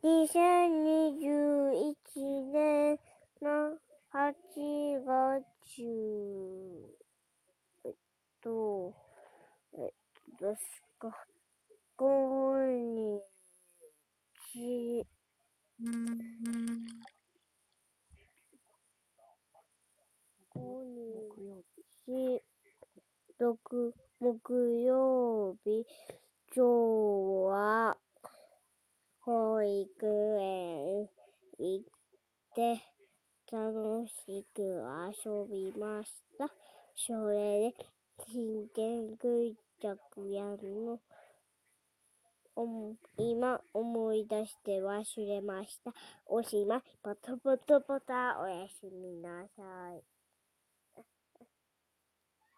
2021年の8月、ですか。5日、木曜日、今日は保育園行って楽しく遊びました。それで真剣クジャクやるの今思い出して忘れました。おしまい。ポトポトポタ。おやすみなさい。